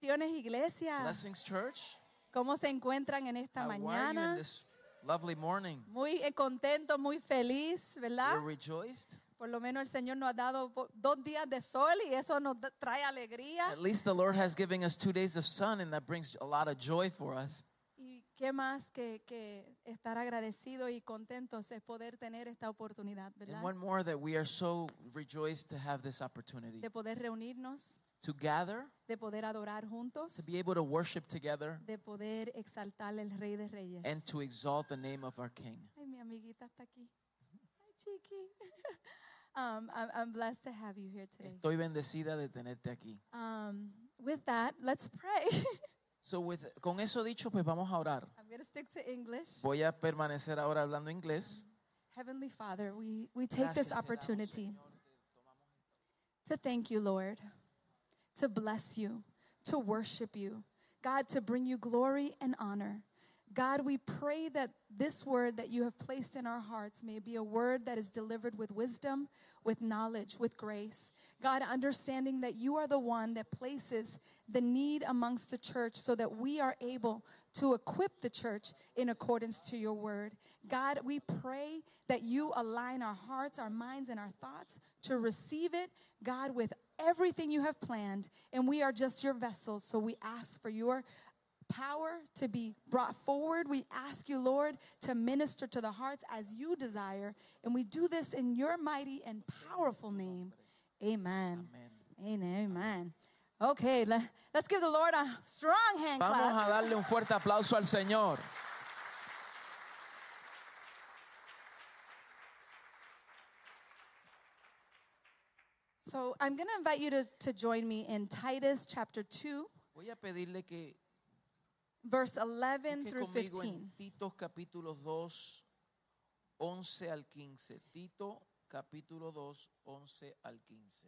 Bendiciones, iglesia. Blessings, church. ¿Cómo se encuentran en esta How are you in mañana? this lovely morning? Muy contento, muy feliz, ¿verdad? You're rejoiced? Por lo menos el Señor nos ha dado 2 días de sol y eso nos trae alegría. At least the Lord has given us 2 days of sun, and that brings a lot of joy for us. Y qué más que estar agradecidos y contentos es poder tener esta oportunidad, ¿verdad? And one more, that we are so rejoiced to have this opportunity De poder reunirnos, to gather, de poder adorar juntos, to be able to worship together, de poder exaltar al Rey de Reyes. and to exalt the name of our King. Ay, mi amiguita está aquí. Ay, chiqui. I'm blessed to have you here today. Estoy bendecida de tenerte aquí. With that, let's pray. So con eso dicho, pues vamos a orar. I'm going to stick to English. Voy a permanecer ahora hablando inglés. Heavenly Father, we take Gracias this te damos, opportunity Señor. to thank you, Lord, to bless you, to worship you, God, to bring you glory and honor. God, we pray that this word that you have placed in our hearts may be a word that is delivered with wisdom, with knowledge, with grace. God, understanding that you are the one that places the need amongst the church so that we are able to equip the church in accordance to your word. God, we pray that you align our hearts, our minds, and our thoughts to receive it, God, with everything you have planned. And we are just your vessels, so we ask for your power to be brought forward. We ask you, Lord, to minister to the hearts as you desire. And we do this in your mighty and powerful name. Amen. Amén. Amen. Okay, let's give the Lord a strong hand Vamos clap. a darle un fuerte aplauso al Señor. So I'm going to invite you to join me in Titus chapter 2, Voy a pedirle que verse 11 busque through conmigo 15. en Tito capítulo 2, 11 al 15. Tito capítulo 2, 11 al 15.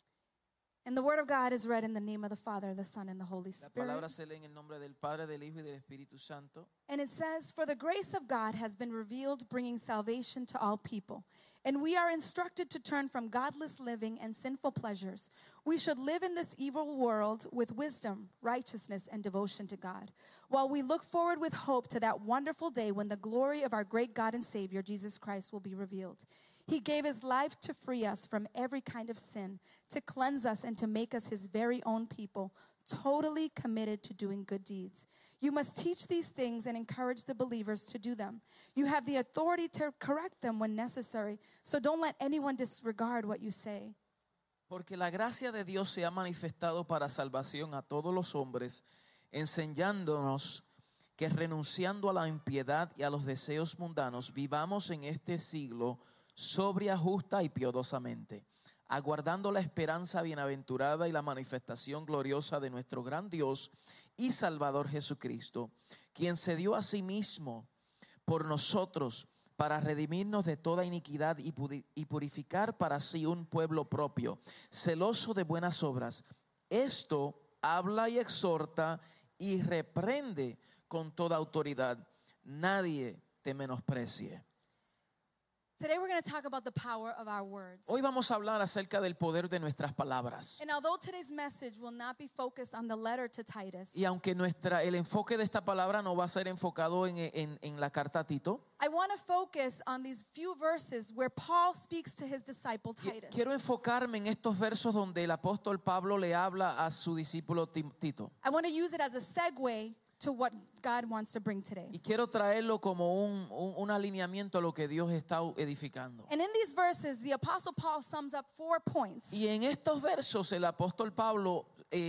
And the word of God is read in the name of the Father, the Son, and the Holy La Spirit. palabra se lee en el nombre del Padre, del Hijo y del Espíritu Santo. And it says, "For the grace of God has been revealed, bringing salvation to all people. And we are instructed to turn from godless living and sinful pleasures. We should live in this evil world with wisdom, righteousness, and devotion to God, while we look forward with hope to that wonderful day when the glory of our great God and Savior, Jesus Christ, will be revealed. He gave his life to free us from every kind of sin, to cleanse us and to make us his very own people, totally committed to doing good deeds. You must teach these things and encourage the believers to do them. You have the authority to correct them when necessary, so don't let anyone disregard what you say. Porque la gracia de Dios se ha manifestado para salvación a todos los hombres, enseñándonos que renunciando a la impiedad y a los deseos mundanos, vivamos en este siglo sobria, justa y piadosamente, aguardando la esperanza bienaventurada y la manifestación gloriosa de nuestro gran Dios y Salvador Jesucristo, quien se dio a sí mismo por nosotros para redimirnos de toda iniquidad y purificar para sí un pueblo propio, celoso de buenas obras. Esto habla y exhorta y reprende con toda autoridad. Nadie te menosprecie. Today we're going to talk about the power of our words. Hoy vamos a hablar acerca del poder de nuestras palabras. And although today's message will not be focused on the letter to Titus, Y aunque el enfoque de esta palabra no va a ser enfocado en la carta a Tito, I want to focus on these few verses where Paul speaks to his disciple Titus. quiero enfocarme en estos versos donde el apóstol Pablo le habla a su discípulo Tito. I want to use it as a segue to what God wants to bring today. Y quiero traerlo como un alineamiento a lo que Dios está edificando. And in these verses, the Apostle Paul sums up 4 points. Y en estos versos el apóstol Pablo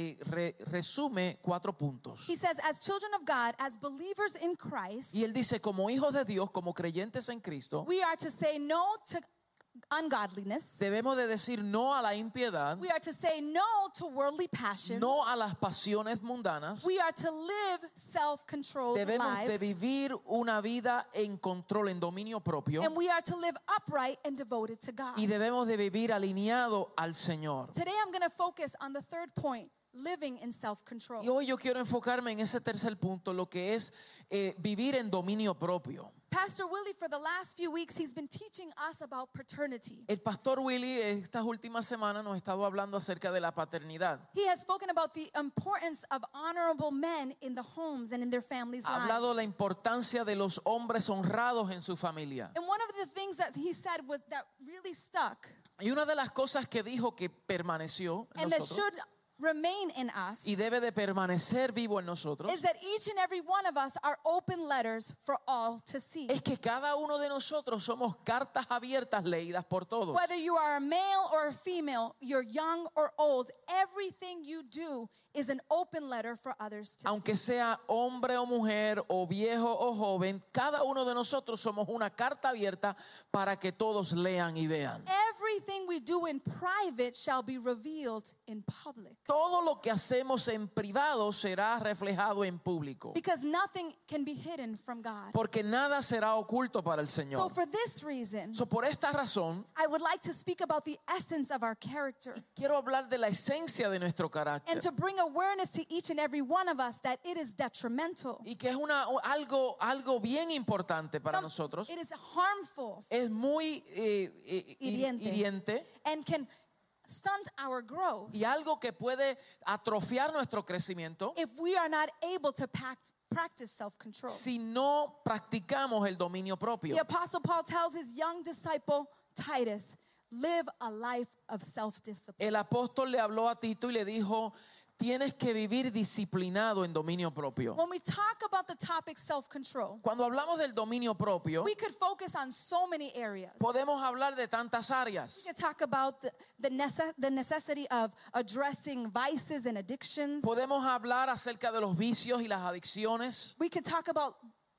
resume 4 puntos. He says, as children of God, as believers in Christ, Y él dice, como hijos de Dios, como creyentes en Cristo, we are to say no to ungodliness. debemos de decir no a la impiedad, We are to say no to worldly passions. no a las pasiones mundanas. We are to live self-controlled Debemos de lives. vivir una vida en control, en dominio propio. And we are to live upright and devoted to God. Y debemos de vivir alineado al Señor. Today I'm going to focus on the third point, living in self-control. Y hoy yo quiero enfocarme en ese tercer punto, lo que es vivir en dominio propio. Pastor Willie, for the last few weeks, he's been teaching us about paternity. El pastor Willy estas últimas semanas nos ha estado hablando acerca de la paternidad. He has spoken about the importance of honorable men in the homes and in their families' Ha hablado de la lives. importancia de los hombres honrados en su familia. And one of the things that he said that really stuck Y una de las cosas que dijo que permaneció en and that nosotros should remain in us y debe de permanecer vivo en nosotros is that each and every one of us are open letters for all to see. es que cada uno de nosotros somos cartas abiertas leídas por todos. Whether you are a male or a female, you're young or old, everything you do is an open letter for others to Aunque see. sea hombre o mujer o viejo o joven, cada uno de nosotros somos una carta abierta para que todos lean y vean. Everything we do in private shall be revealed in public. Todo lo que hacemos en privado será reflejado en público, Because nothing can be hidden from God. porque nada será oculto para el So Señor. for this reason, Por esta razón, I would like to speak about the essence of our character quiero hablar de la esencia de nuestro and carácter to bring awareness to each and every one of us that it is detrimental. y que es algo bien importante para nosotros. It is harmful Es muy hiriente and can stunt our growth y algo que puede atrofiar nuestro crecimiento if we are not able to practice self-control. si no practicamos el dominio propio. The Apostle Paul tells his young disciple Titus, live a life of self-discipline. El apóstol le habló a Tito y le dijo, tienes que vivir disciplinado en dominio propio. When we talk about the topic self-control, Cuando hablamos del dominio propio, we could focus on so many areas. podemos hablar de tantas áreas. We could talk about the necessity of addressing vices and addictions. Podemos hablar acerca de los vicios y las adicciones, We could talk about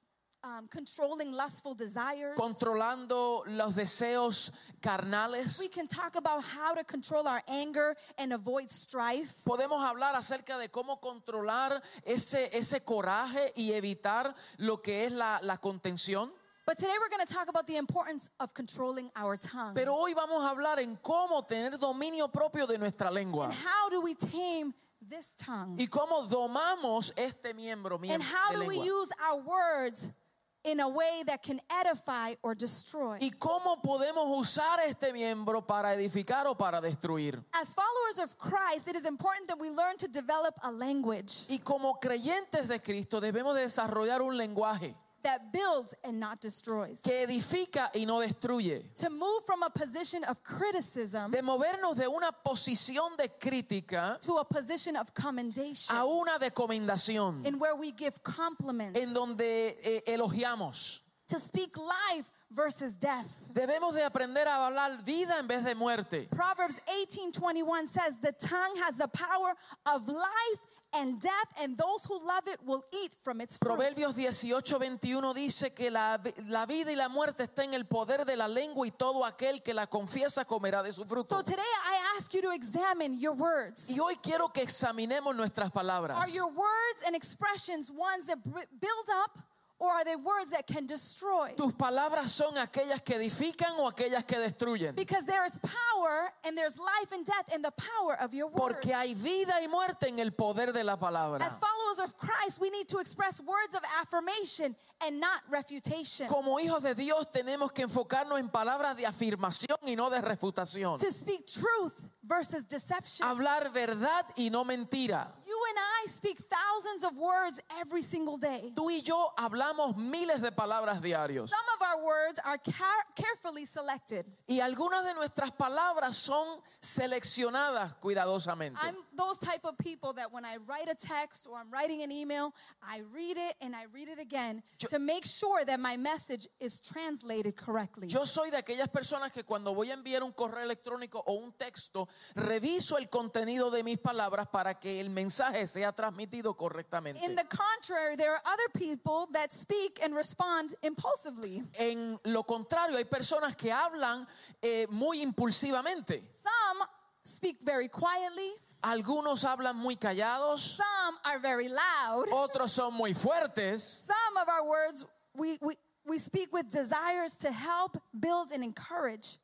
controlling lustful desires. controlando los deseos carnales. We can talk about how to control our anger and avoid strife. Podemos hablar acerca de cómo controlar ese coraje y evitar lo que es la contención. But today we're going to talk about the importance of controlling our tongue. Pero hoy vamos a hablar en cómo tener dominio propio de nuestra lengua. And how do we tame this tongue? Y cómo domamos este miembro And how de do we lengua. use our words in a way that can edify or destroy? Y cómo podemos usar este miembro para edificar o para destruir. As followers of Christ, it is important that we learn to develop a language Y como creyentes de Cristo debemos desarrollar un lenguaje that builds and not destroys. que edifica y no destruye. To move from a position of criticism De movernos de una posición de crítica to a position of commendation, a una de comendación, in where we give compliments, en donde elogiamos. to speak life versus death. Debemos de aprender a hablar vida en vez de muerte. Proverbs 18:21 says, the tongue has the power of life and death, and those who love it will eat from its fruit. Proverbios 18:21 dice que la vida y la muerte está en el poder de la lengua y todo aquel que la confiesa comerá de su fruto. So today I ask you to examine your words. Y hoy quiero que examinemos nuestras palabras. Are your words and expressions ones that build up, or are they words that can destroy? ¿Tus palabras son aquellas que edifican o aquellas que destruyen? Because there is power and there's life and death in the power of your words. Porque hay vida y muerte en el poder de la palabra. As followers of Christ, we need to express words of affirmation and not refutation. Como hijos de Dios tenemos que enfocarnos en palabras de afirmación y no de refutación. To speak truth versus deception. Hablar verdad y no mentira. You and I speak thousands of words every single day. Tú y yo hablamos miles de palabras diarios. Some of our words are carefully selected. Y algunas de nuestras palabras son seleccionadas cuidadosamente. I'm those type of people that when I write a text or I'm writing an email, I read it and I read it again to make sure that my message is translated correctly. Yo soy de aquellas personas que cuando voy a enviar un correo electrónico o un texto, reviso el contenido de mis palabras para que el mensaje sea transmitido correctamente. In the contrary, there are other people that speak and respond impulsively. En lo contrario, hay personas que hablan muy impulsivamente. Some speak very quietly. Algunos hablan muy callados, Some are very loud. otros son muy fuertes. Some of our words we speak with desires to help, build, and encourage.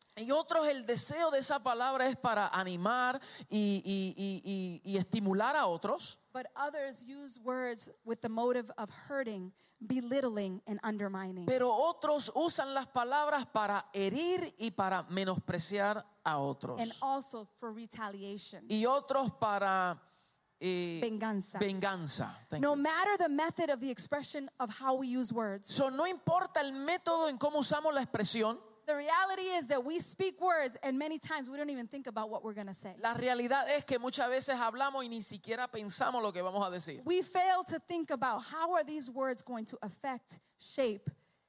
Y otros, el deseo de esa palabra es para animar y estimular a otros. But others use words with the motive of hurting, belittling, and undermining. Pero otros usan las palabras para herir y para menospreciar a otros. And also for retaliation. Y otros para Venganza. venganza. Thank No you. matter the method of the expression of how we use words, So, no importa el método en cómo usamos la expresión. the reality is that we speak words and many times we don't even think about what we're going to say. La realidad es que muchas veces hablamos y ni siquiera pensamos lo que vamos a decir. We fail to think about how are these words going to affect, shape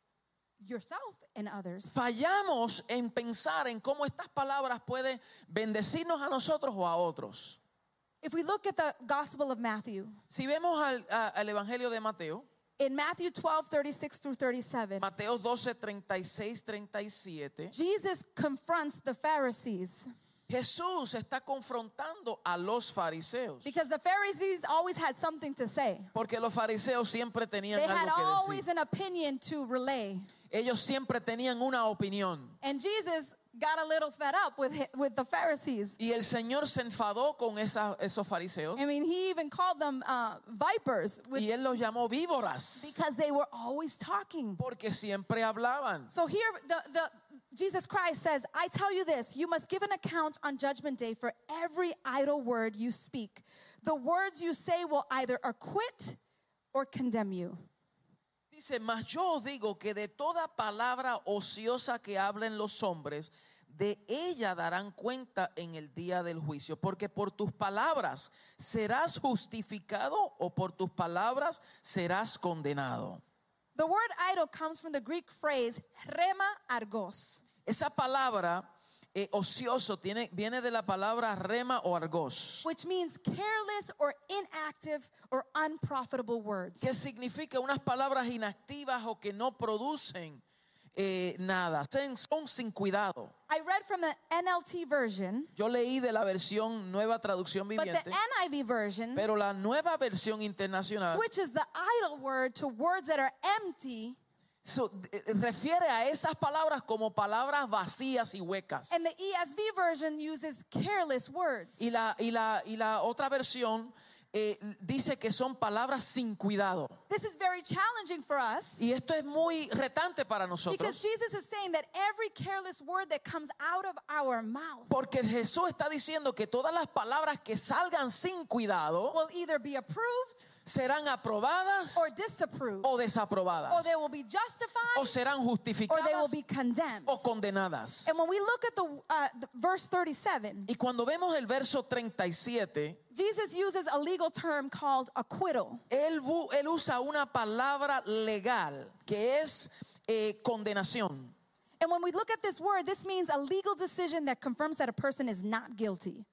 yourself and others. Fallamos en pensar en cómo estas palabras pueden bendecirnos a nosotros o a otros. If we look at the Gospel of Matthew, Si vemos al Evangelio de Mateo, in Matthew 12:36 through 37, Mateo 12, 36, 37, Jesus confronts the Pharisees Jesús está confrontando a los fariseos. because the Pharisees always had something to say. Porque los fariseos siempre tenían They had algo que always decir. an opinion to relay. Ellos siempre tenían una opinión. And Jesus got a little fed up with the Pharisees. Y el Señor se enfadó con esos fariseos. I mean, he even called them vipers Y Él los llamó víboras. because they were always talking. Porque siempre hablaban. So here, Jesus Christ says, I tell you this, you must give an account on Judgment Day for every idle word you speak. The words you say will either acquit or condemn you. Dice, mas yo os digo que de toda palabra ociosa que hablen los hombres, de ella darán cuenta en el día del juicio. Porque por tus palabras serás justificado o por tus palabras serás condenado. The word idle comes from the Greek phrase rema argos. Esa palabra ocioso viene de la palabra rema o argos, Which means careless or inactive or unprofitable words. que significa unas palabras inactivas o que no producen nada, son sin cuidado. I read from the NLT version, Yo leí de la versión Nueva Traducción but the Viviente, NIV version pero la nueva versión internacional switches the idle word to words that are empty, refiere a esas palabras como palabras vacías y huecas. and the ESV version uses careless words. Y la otra versión dice que son palabras sin cuidado. This is very challenging for us Y esto es muy retante para because nosotros. Jesus is saying that every careless word that comes out of our mouth Porque Jesús está diciendo que todas las palabras que salgan sin cuidado will either be approved serán aprobadas or disapproved, o desaprobadas, or they will be justified o serán or they will justificadas be condemned. o condenadas. And when we look at the verse 37, Y cuando vemos el verso 37, Jesus uses a legal term called acquittal. él usa una palabra legal que es condenación. And when we look at this word, this means a legal decision that confirms that a person is not guilty.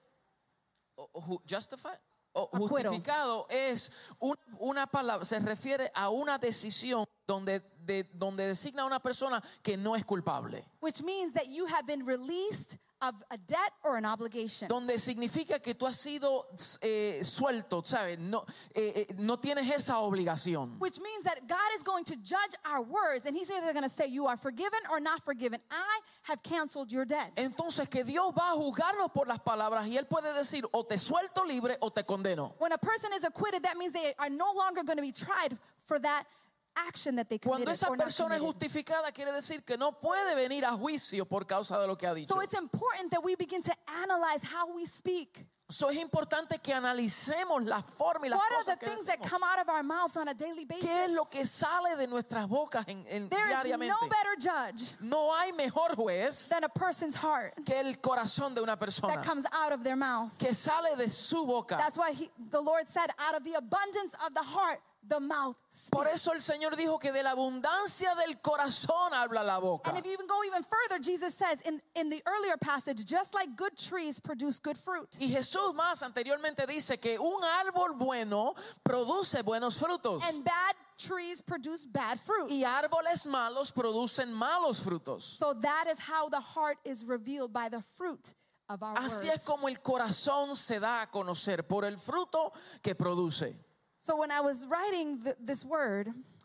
Justified o Acquittal. justificado es una palabra, se refiere a una decisión donde designa a una persona que no es culpable. Which means that you have been released of a debt or an obligation. Donde significa que tú has sido suelto, ¿sabes? No tienes esa obligación. Which means that God is going to judge our words, and He's either going to say you are forgiven or not forgiven. I have canceled your debt. Entonces que Dios va a juzgarnos por las palabras y Él puede decir o te suelto libre o te condeno. When a person is acquitted, that means they are no longer going to be tried for that action that they committed. Cuando esa or not persona es committed. justificada quiere decir que no puede venir a juicio por causa de lo que ha dicho. So it's important that we begin to analyze how we speak. So es importante que analicemos la forma y las What are cosas the que things that decimos. come out of our mouths on a daily basis? ¿Qué es lo que sale de nuestras bocas There is diariamente? no better judge No hay mejor juez than a person's heart que el corazón de una persona that comes out of their mouth. que sale de su boca. That's why the Lord said, out of the abundance of the heart, the mouth Por speaks. eso el Señor dijo que de la abundancia del corazón habla la boca. And if you even go even further, Jesus says in the earlier passage, just like good trees produce good fruit, Y Jesús más anteriormente dice que un árbol bueno produce buenos frutos and bad trees produce bad fruit. y árboles malos producen malos frutos. So that is how the heart is revealed, by the fruit of our Así words. es como el corazón se da a conocer por el fruto que produce. So when I was writing this word,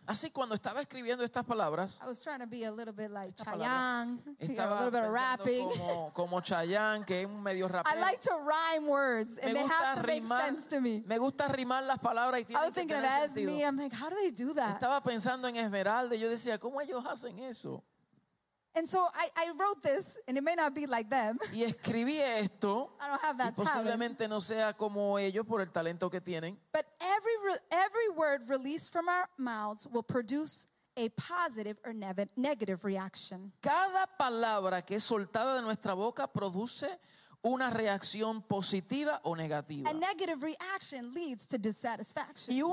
Así cuando estaba escribiendo estas palabras, I was trying to be a little bit like Esta palabra. Chayanne, a estaba little bit of rapping. pensando como Chayanne, que es un medio rapero. I like to rhyme words, and Me they have gusta to make sense to me. me gusta rimar las palabras y I tienen was que thinking of tener Esme. sentido. I'm like, how do they do that? Estaba pensando en Esmeralda y yo decía, ¿cómo ellos hacen eso? And so I wrote this, and it may not be like them. Y escribí esto, I don't have y that talent. posiblemente no sea como ellos por el talento que tienen. But every word released from our mouths will produce a positive or negative reaction. Cada palabra que es soltada de nuestra boca produce una reacción positiva o negativa. A negative reaction leads to dissatisfaction. Y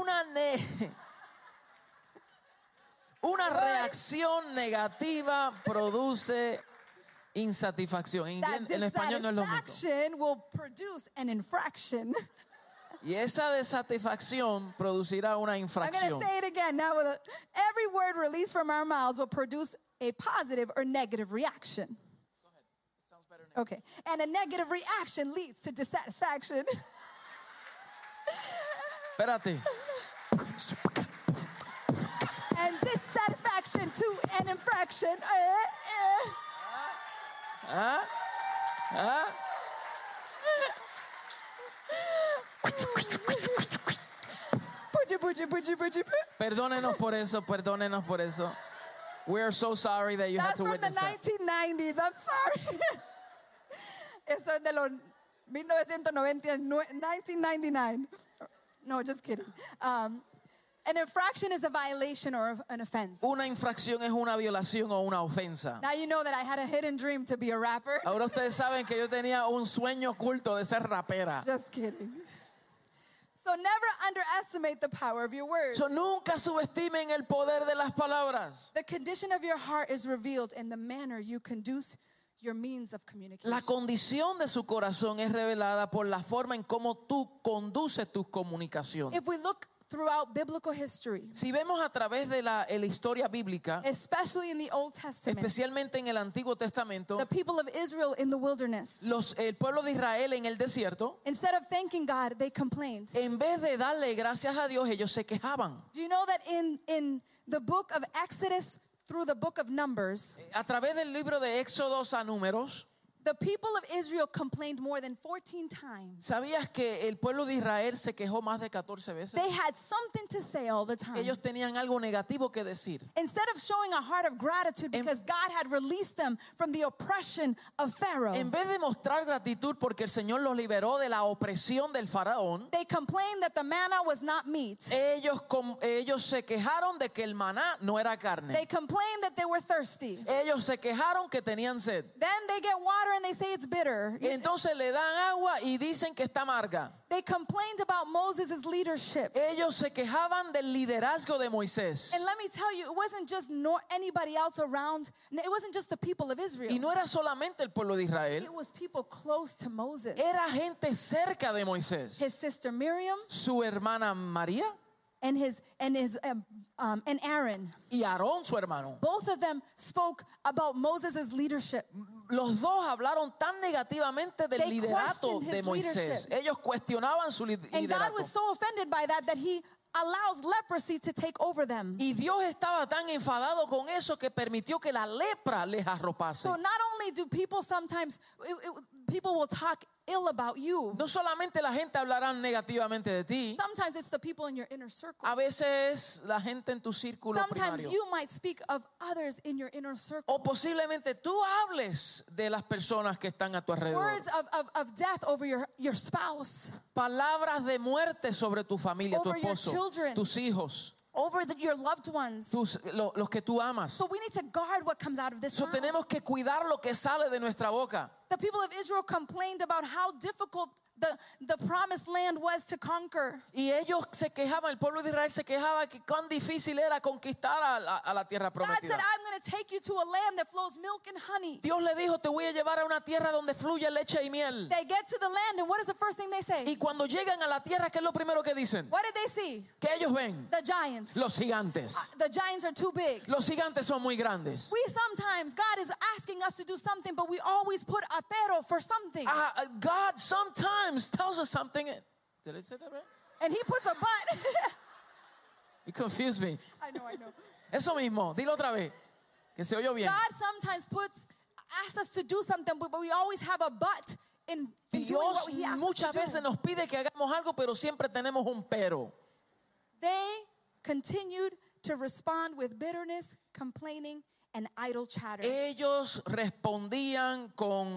una reacción negativa produce insatisfacción. That En español no es lo mismo. dissatisfaction will produce an infraction. Y esa desatisfacción producirá una I'm infracción. going to say it again. Now, every word released from our mouths will produce a positive or negative reaction. Okay. And a negative reaction leads to dissatisfaction. Espérate. And dissatisfaction to an infraction. ¿Ah? ¿Ah? Perdónenos por eso, perdónenos por eso. We are so sorry that you had That's to from the witness that. 1990s. I'm sorry. Eso es de los 1999. No, just kidding. An infraction is a violation or an offense. Una infracción es una violación o una ofensa. Now you know that I had a hidden dream to be a rapper. Ahora ustedes saben que yo tenía un sueño oculto de ser rapera. Just kidding. So never underestimate the power of your words. So, nunca subestimen el poder de las palabras. The condition of your heart is revealed in the manner you conduce your means of communication. La condición de su corazón es revelada por la forma en cómo tú conduces tus comunicaciones. If we look throughout biblical history, Si vemos a través de la historia bíblica, especially in the Old Testament, especialmente en el Antiguo Testamento, the people of Israel in the wilderness, el pueblo de Israel en el desierto, instead of thanking God, they complained. en vez de darle gracias a Dios, ellos se quejaban. Do you know that in the book of Exodus through the book of Numbers, A través del libro de Éxodos a Números, the people of Israel complained more than 14 times. ¿sabías que el pueblo de Israel se quejó más de 14 veces? They had something to say all the time. Ellos tenían algo negativo que decir. Instead of showing a heart of gratitude because God had released them from the oppression of Pharaoh, En vez de mostrar gratitud porque el Señor los liberó de la opresión del faraón, they complained that the manna was not meat. ellos se quejaron de que el maná no era carne. They complained that they were thirsty. Ellos se quejaron que tenían sed. Then they get water and they say it's bitter. Y entonces le dan agua y dicen que está amarga. They complained about Moses' leadership. Ellos se quejaban del liderazgo de Moisés. And let me tell you, it wasn't just anybody else around. It wasn't just the people of Israel. Y no era solamente el pueblo de Israel, It was people close to Moses. era gente cerca de Moisés. His sister Miriam Su hermana María and Aaron. y Aarón, su hermano. Both of them spoke about Moses' leadership. Los dos hablaron tan negativamente del They liderato questioned de his Moisés. leadership. Ellos cuestionaban su And God liderato. was so offended by that he allows leprosy to take over them. Y Dios estaba tan enfadado con eso que permitió que la lepra les arropase. So not only do people sometimes, people will talk ill about you. No solamente la gente hablará negativamente de ti, Sometimes it's the people in your inner circle. a veces la gente en tu círculo Sometimes primario. you might speak of others in your inner circle. O posiblemente tú hables de las personas que están a tu alrededor. Words of death over your spouse, Palabras de muerte sobre tu familia, tu Over your esposo, children. tus hijos, over your loved ones. los que tú amas. So we need to guard what comes out of this So mouth. tenemos que cuidar lo que sale de nuestra boca. The people of Israel complained about how difficult the promised land was to conquer. Y ellos se quejaban, el pueblo de Israel se quejaba que cuán difícil era conquistar a la tierra God said, prometida. I'm going to take you to a land that flows milk and honey. Dios le dijo, te voy a llevar a una tierra donde fluye leche y miel. They get to the land, and what is the first thing they say? Y cuando llegan a la tierra, ¿qué es lo primero que dicen? What did they see? Que ellos ven The giants. los gigantes. The giants are too big. Los gigantes son muy grandes. We sometimes, God is asking us to do something, but we always put a pero for something. God sometimes tells us something. Did I say that right? And he puts a but. You confuse me. I know. Eso mismo, dilo otra vez, que se oyó bien. God sometimes asks us to do something, but we always have a but in doing Dios what He asks us muchas to veces do. nos pide que hagamos algo, pero siempre tenemos un pero. They continued to respond with bitterness, complaining, and idle chatter. Ellos respondían con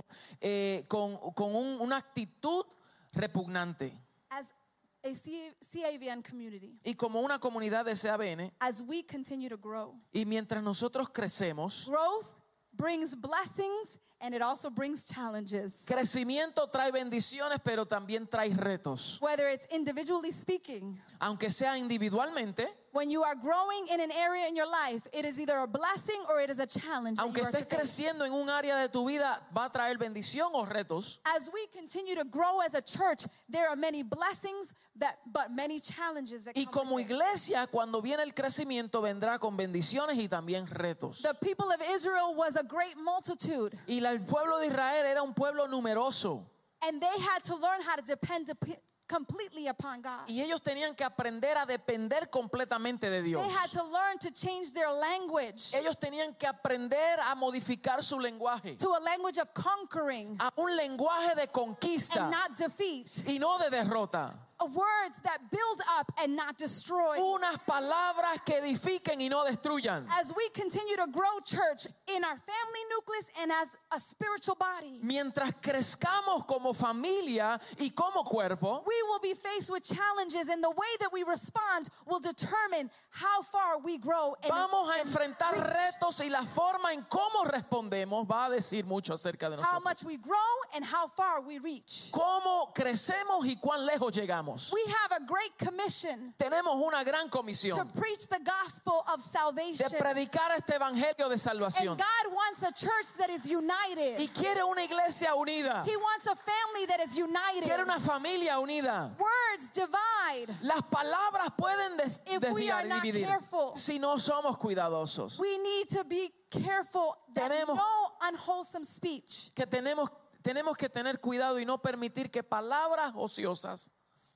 una actitud repugnante. As a CAVN community, Y como una comunidad de CAVN, as we continue to grow, y mientras nosotros crecemos, growth brings blessings and it also brings challenges. crecimiento trae bendiciones, pero también trae retos. Whether it's individually speaking, Aunque sea individualmente, when you are growing in an area in your life, it is either a blessing or it is a challenge. aunque that you are estés to face. creciendo en un área de tu vida, va a traer bendición o retos. As we continue to grow as a church, there are many blessings but many challenges that Y come como with it. iglesia, cuando viene el crecimiento, vendrá con bendiciones y también retos. The people of Israel was a great multitude, Y el pueblo de Israel era un pueblo numeroso. and they had to learn how to depend completely upon God. Y ellos tenían que aprender a depender completamente de Dios. They had to learn to change their language Ellos tenían que aprender a modificar su lenguaje to a language of conquering a un lenguaje de conquista and not defeat. y no de derrota. Words that build up and not destroy. Unas palabras que edifiquen y no destruyan. As we continue to grow church in our family nucleus and as a spiritual body, Mientras crezcamos como familia y como cuerpo, we will be faced with challenges, and the way that we respond will determine how far we grow and, vamos a and enfrentar reach. retos, y la forma en cómo respondemos va a decir mucho acerca de How nosotros. much we grow and how far we reach. Cómo crecemos y cuán lejos llegamos. We have a great commission Tenemos una gran to comisión preach the gospel of salvation. de predicar este evangelio de And salvación. God wants a church that is united. Y quiere una iglesia unida. He wants a family that is united. Quiere una familia unida. Words divide. Las palabras pueden If we are not dividir careful. si no somos cuidadosos. We need to be careful that Tenemos- no unwholesome speech Que tenemos que tener cuidado y no permitir que palabras ociosas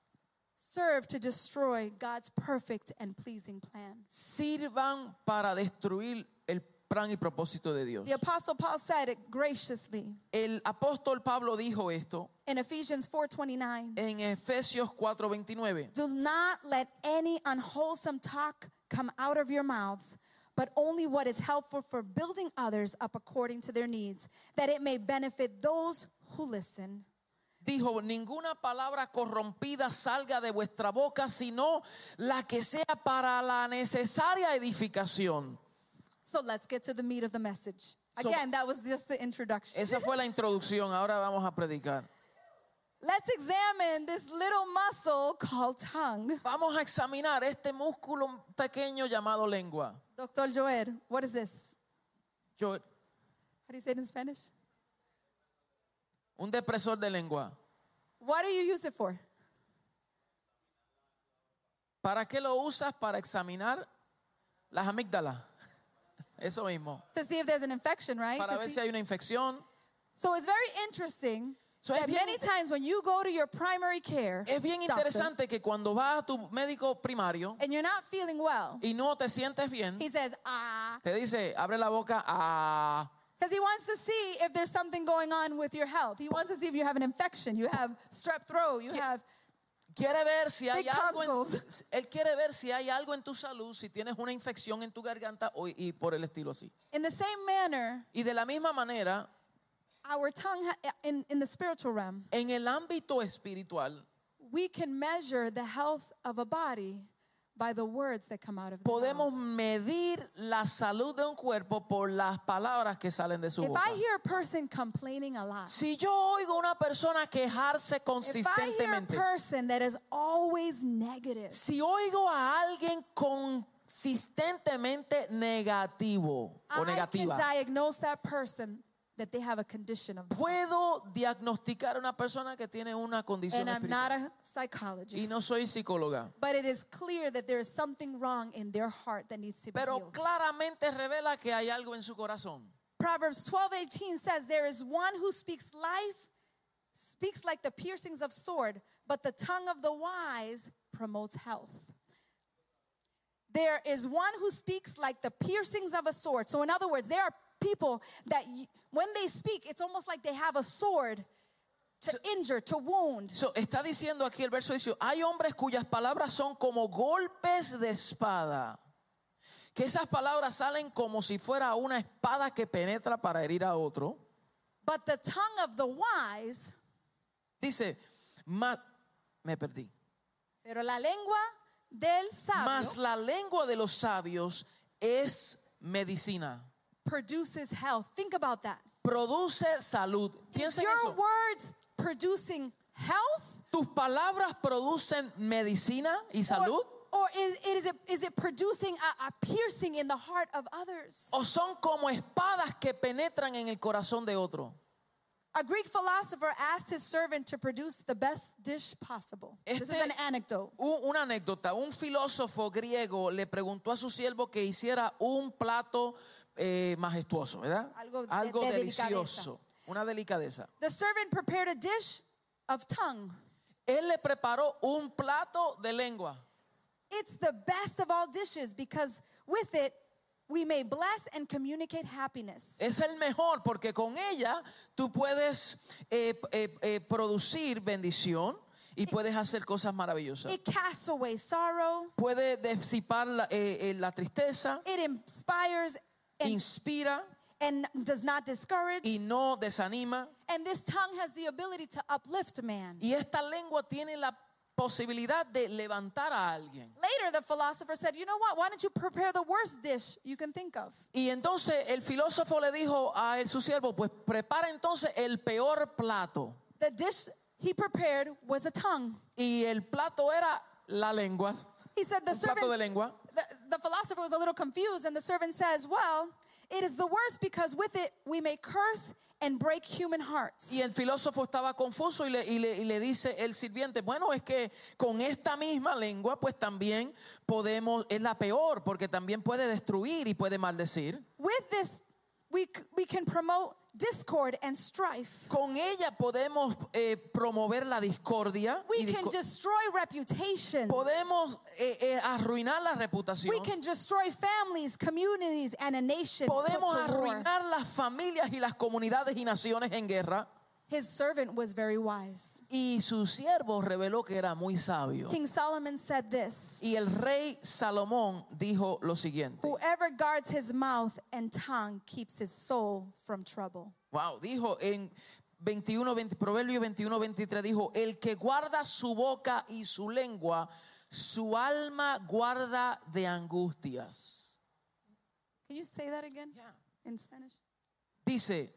serve to destroy God's perfect and pleasing plan. sirvan para destruir el plan y propósito de Dios. The Apostle Paul said it graciously El apóstol Pablo dijo esto in Ephesians 4:29. en Efesios 4:29. Do not let any unwholesome talk come out of your mouths, but only what is helpful for building others up according to their needs, that it may benefit those who listen. Dijo, ninguna palabra corrompida salga de vuestra boca, sino la que sea para la necesaria edificación. So let's get to the meat of the message. So- Again, that was just the introduction. Esa fue la introducción, ahora vamos a predicar. Let's examine this little muscle called tongue. Vamos a examinar este músculo pequeño llamado lengua. Dr. Joel, what is this? Yo, How do you say it in Spanish? un depresor de lengua. What do you use it for? ¿Para qué lo usas? Para examinar las amígdalas. Eso mismo. To see if there's an infection, right? Para To ver see- si hay una infección. So it's very interesting So es that bien many times when you go to your primary care Es bien doctor, interesante que cuando vas a tu médico primario and you're not feeling well, y no te sientes bien, he says, te dice, abre la boca, ah. because he wants to see if there's something going on with your health. He wants to see if you have an infection, you have strep throat, you have. Quiere ver si hay Big algo tonsils. él quiere ver si hay algo en tu salud, si tienes una infección en tu garganta y por el estilo así. In the same manner, Y de la misma manera, our tongue in the spiritual realm, en el ámbito espiritual, we can measure the health of a body by the words that come out of the podemos mouth. medir la salud de un cuerpo por las palabras que salen de su If boca. I hear a person complaining a lot, Si yo oigo a una persona quejarse if I hear a consistentemente, person that is always negative, si oigo a alguien consistentemente negativo o I can negativa, diagnose that person that they have a condition of. puedo diagnosticar a una persona que tiene una condición And I'm espiritual. not a Y psychologist. no soy psicóloga, But it is clear that there is something wrong in their heart that needs to be pero healed. claramente revela que hay algo en su corazón. Proverbs 12:18 says, there is one who speaks life, speaks like the piercings of sword, but the tongue of the wise promotes health. there is one who speaks like the piercings of a sword. So in other words, there are people that when they speak, it's almost like they have a sword to injure, to wound. So, está diciendo aquí el verso 18, hay hombres cuyas palabras son como golpes de espada. Que esas palabras salen como si fuera una espada que penetra para herir a otro. But the tongue of the wise, Dice, me perdí. pero la lengua del Mas sabio la lengua de los sabios es medicina. produces health. Think about that. Produce salud. Is Piensa en your eso. words producing health? ¿Tus palabras producen medicina y salud? Or is it producing a piercing in the heart of others? ¿O son como espadas que penetran en el corazón de otro? A Greek philosopher asked his servant to produce the best dish possible. This is an anecdote. Una anécdota. Un filósofo griego le preguntó a su siervo que hiciera un plato majestuoso, ¿verdad? Algo de delicioso. Una delicadeza. The servant prepared a dish of tongue. Él le preparó un plato de lengua. It's the best of all dishes because with it, we may bless and communicate happiness. Es el mejor porque con ella tú puedes producir bendición y puedes hacer cosas maravillosas. It casts away sorrow. Puede disipar la tristeza, It inspires inspira and does not discourage. y no desanima. And this tongue has the ability to uplift man. Y esta lengua tiene la posibilidad de levantar a alguien. Later, the philosopher said, you know what? Why don't you prepare the worst dish you can think of? Y entonces el filósofo le dijo a su siervo, pues prepara entonces el peor plato. The dish he prepared was a tongue. Y el plato era la lengua. He said the Un plato de servant, lengua. the philosopher was a little confused, and the servant says, well, it is the worst because with it we may curse and break human hearts. Y el filósofo estaba confuso y le dice el sirviente, bueno, es que con esta misma lengua pues también es la peor porque también puede destruir y puede maldecir. With this, we can promote discord and strife. Con ella podemos promover la discordia. We can destroy reputations. Podemos arruinar la reputación. We can destroy families, communities, and a nation. Podemos put to war. arruinar las familias y las comunidades y naciones en guerra. His servant was very wise. Y su siervo reveló que era muy sabio. King Solomon said this, Y el rey Salomón dijo lo siguiente. whoever guards his mouth and tongue keeps his soul from trouble. Wow, dijo en Proverbio 21:23 dijo, el que guarda su boca y su lengua, su alma guarda de angustias. Can you say that again Yeah. in Spanish? Dice,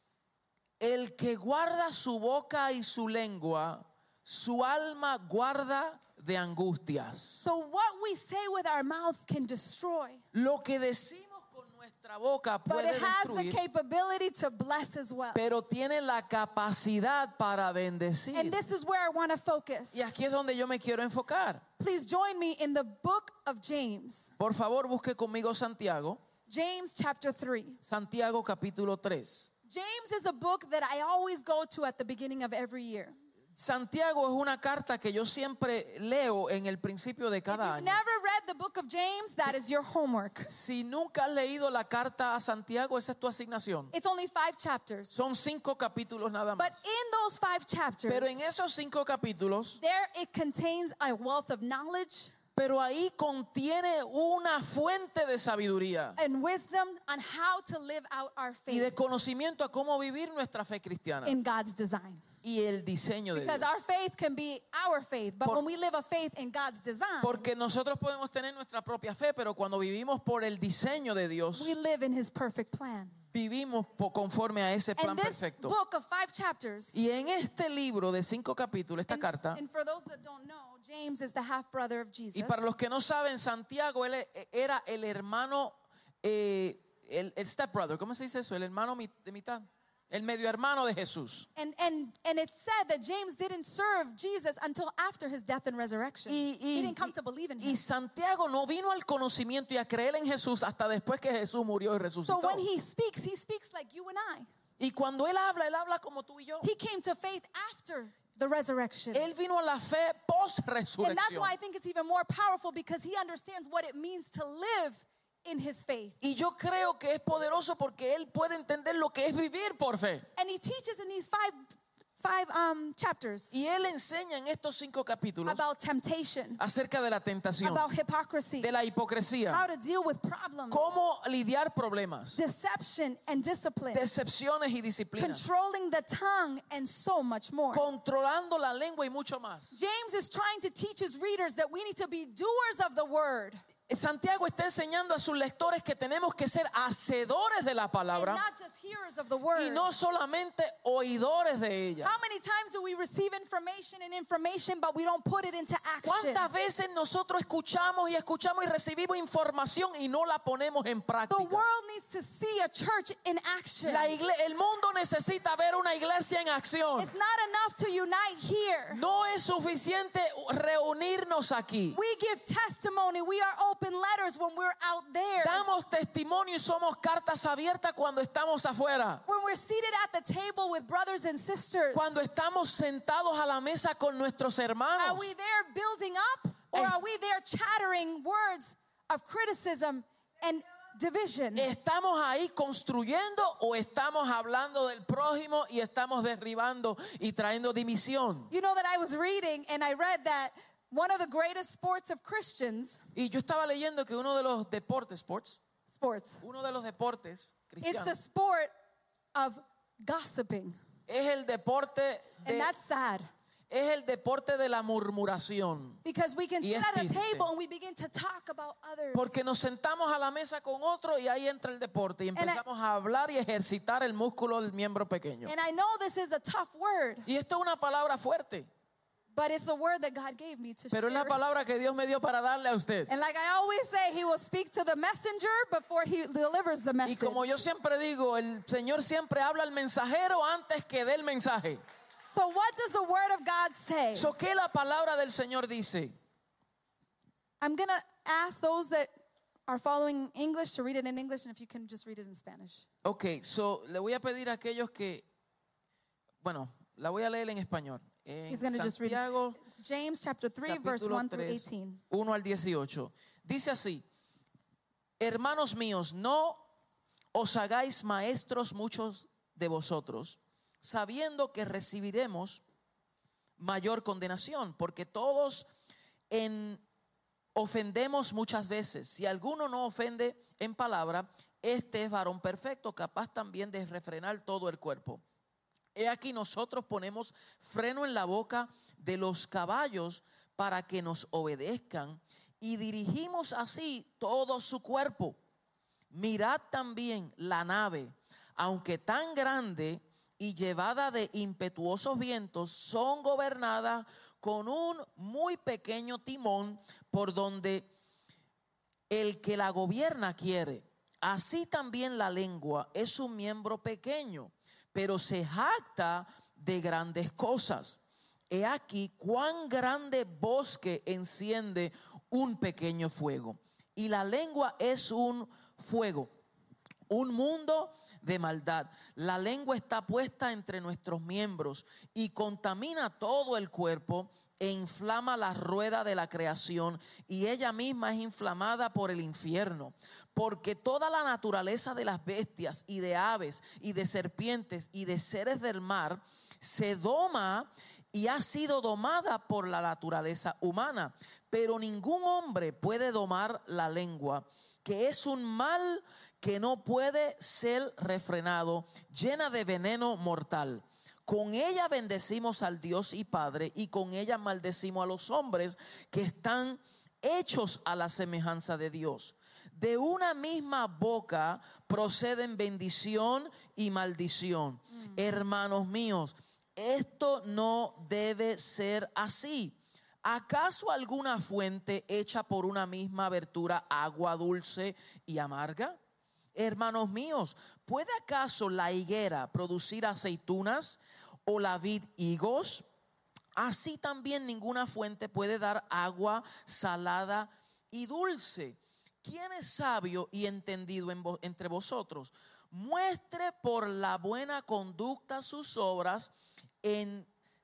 el que guarda su boca y su lengua, su alma guarda de angustias. So what we say with our mouths can destroy, Lo que decimos con nuestra boca but puede it has the destruir, capability to bless as well. pero tiene la capacidad para bendecir. And this is where I want to focus. Y aquí es donde yo me quiero enfocar. Please join me in the book of James. Por favor, busque conmigo Santiago. James chapter 3. Santiago capítulo 3. James is a book that I always go to at the beginning of every year. Santiago es una carta que yo siempre leo en el principio de If cada you've año. never read the book of James, that is your homework. Si nunca has leído la carta a Santiago, esa es tu asignación. It's only 5 chapters. Son 5 capítulos nada But más. in those 5 chapters, Pero en esos 5 capítulos, there it contains a wealth of knowledge pero ahí contiene una fuente de sabiduría and wisdom on how to live out our y de faith conocimiento a cómo vivir nuestra fe cristiana in God's design. y el diseño de Because Dios. our faith can be our faith, but when we live a faith in God's design, Porque nosotros podemos tener nuestra propia fe, pero cuando vivimos por el diseño de Dios, we live in His perfect plan. vivimos conforme a ese plan And this perfecto. book of 5 chapters, Y en este libro de 5 capítulos, esta carta, and for those that don't know, James is the half brother of Jesus. y para los que no saben, Santiago él era el hermano, el stepbrother, ¿cómo se dice eso? El hermano de mitad, el medio hermano de Jesús. And it said that James didn't serve Jesus until after his death and resurrection. He didn't come to believe in Y him. Santiago no vino al conocimiento y a creer en Jesús hasta después que Jesús murió y So resucitó. when he speaks like you and I. Y cuando él habla como tú y yo. He came to faith after the resurrection. Él vino a la fe And that's post-resurrección. why I think it's even more powerful, because he understands what it means to live in his faith. Y yo creo que es poderoso porque él puede entender lo que es vivir por fe. And he teaches in these five chapters Y él enseña en estos 5 capítulos about temptation, acerca de la tentación, about hypocrisy, de la hipocresía, how to deal with problems, cómo lidiar problemas, deception and discipline, decepciones y disciplinas, controlling the tongue, and so much more. controlando la lengua y mucho más. James is trying to teach his readers that we need to be doers of the word Santiago está enseñando a sus lectores que tenemos que ser hacedores de la and palabra not just hearers of the word. y no solamente oidores de ella. How many times do we receive information, but we don't put it into action? ¿Cuántas veces nosotros escuchamos y recibimos información y no la ponemos en The práctica? world needs to see a church in action. El mundo necesita ver una iglesia en acción. It's not enough to unite here. No es suficiente reunirnos aquí. We give testimony. We are open letters when we're out there. Damos testimonio y somos cartas abiertas cuando estamos afuera. When we're seated at the table with brothers and sisters. Cuando estamos sentados a la mesa con nuestros Are hermanos. we there building up, or are we there chattering words of criticism and division? ¿Estamos ahí construyendo o estamos hablando del prójimo y estamos derribando y trayendo división? You know that I was reading and I read that one of the greatest sports of Christians, Y yo estaba leyendo que uno de los deportes, it's the cristianos, sport of gossiping. es el deporte And that's sad. es el deporte de la murmuración. Because we can Y sit es at a triste. table and we begin to talk about others. Porque nos sentamos a la mesa con otro y ahí entra el deporte y empezamos a hablar y ejercitar el músculo del miembro pequeño. And I know this is a tough word, Y esto es una palabra fuerte, but it's the word that God gave me to pero es la share. palabra que Dios me dio para darle a usted. And like I always say, he will speak to the messenger before he delivers the Y message. como yo siempre digo, el Señor siempre habla al mensajero antes que dé el mensaje. So what does the word of God say? So, ¿qué la palabra del Señor dice? I'm going to ask those that are following English to read it in English, and if you can just read it in Spanish. Ok, so le voy a pedir a aquellos que, bueno, la voy a leer en español. En He's going to just read Santiago, James chapter 3, verse capítulo 1 through 3, 18. 1 al 18. Dice así: hermanos míos, no os hagáis maestros muchos de vosotros, sabiendo que recibiremos mayor condenación, porque todos ofendemos muchas veces. Si alguno no ofende en palabra, este es varón perfecto, capaz también de refrenar todo el cuerpo. He aquí nosotros ponemos freno en la boca de los caballos para que nos obedezcan y dirigimos así todo su cuerpo. Mirad también la nave, aunque tan grande y llevada de impetuosos vientos, son gobernadas con un muy pequeño timón por donde el que la gobierna quiere. Así también la lengua es un miembro pequeño, pero se jacta de grandes cosas. He aquí cuán grande bosque enciende un pequeño fuego. Y la lengua es un fuego, un mundo de maldad. La lengua está puesta entre nuestros miembros y contamina todo el cuerpo e inflama la rueda de la creación, y ella misma es inflamada por el infierno. Porque toda la naturaleza de las bestias y de aves y de serpientes y de seres del mar se doma y ha sido domada por la naturaleza humana. Pero ningún hombre puede domar la lengua, que es un mal que no puede ser refrenado, llena de veneno mortal. Con ella bendecimos al Dios y Padre, y con ella maldecimos a los hombres que están hechos a la semejanza de Dios. De una misma boca proceden bendición y maldición. Hermanos míos, esto no debe ser así. ¿Acaso alguna fuente echa por una misma abertura agua dulce y amarga? Hermanos míos, ¿puede acaso la higuera producir aceitunas o la vid higos? Así también ninguna fuente puede dar agua salada y dulce. ¿Quién es sabio y entendido entre vosotros? Muestre por la buena conducta sus obras en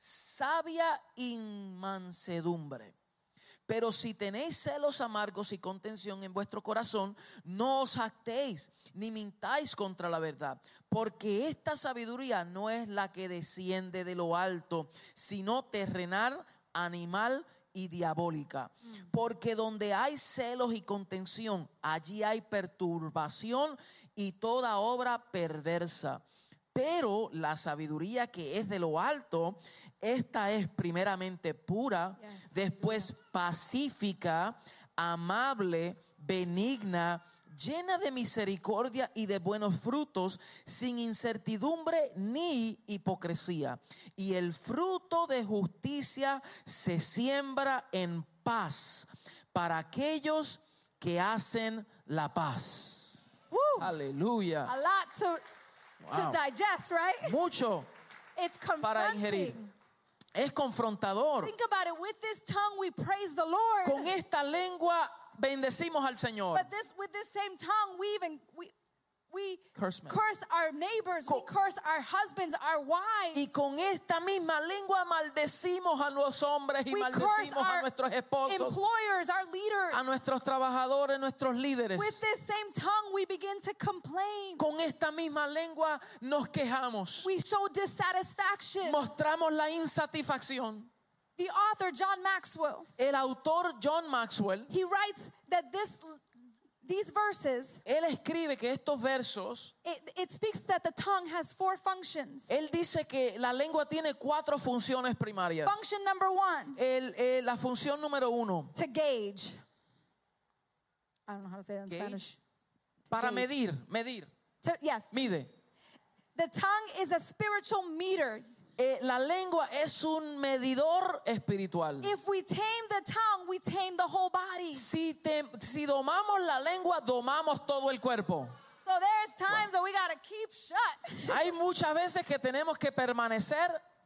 sabia inmansedumbre. Pero si tenéis celos amargos y contención en vuestro corazón, no os jactéis ni mintáis contra la verdad, porque esta sabiduría no es la que desciende de lo alto, sino terrenal, animal y diabólica. Porque donde hay celos y contención, allí hay perturbación y toda obra perversa. Pero la sabiduría que es de lo alto, esta es primeramente pura, después pacífica, amable, benigna, llena de misericordia y de buenos frutos, sin incertidumbre ni hipocresía. Y el fruto de justicia se siembra en paz para aquellos que hacen la paz. Aleluya. A lot to digest, right? Mucho It's para ingerir. confronting. Es confrontador. Think about it. With this tongue, we praise the Lord. Con esta lengua bendecimos al Señor. But with this same tongue, we Curse men. curse our neighbors, we curse our husbands, our wives. Y con esta misma lengua maldecimos a los hombres y We curse maldecimos a our nuestros esposos, employers, our leaders. a nuestros trabajadores, nuestros líderes. With this same tongue, we begin to complain. Con esta misma lengua nos quejamos. We show dissatisfaction. Mostramos la insatisfacción. The author, John Maxwell, El autor John Maxwell, he writes that these verses, él escribe que estos versos, it speaks that the tongue has 4 functions. él dice que la lengua tiene 4 funciones primarias. Function number 1, La función número 1, to gauge. I don't know how to say that in Gauge? Spanish. para gauge. medir, Yes. mide. The tongue is a spiritual meter. La lengua es un medidor espiritual. If we tame the tongue, we tame the whole body. Si domamos la lengua, domamos todo el cuerpo. So there's times that we got to keep shut Hay muchas veces que tenemos que permanecer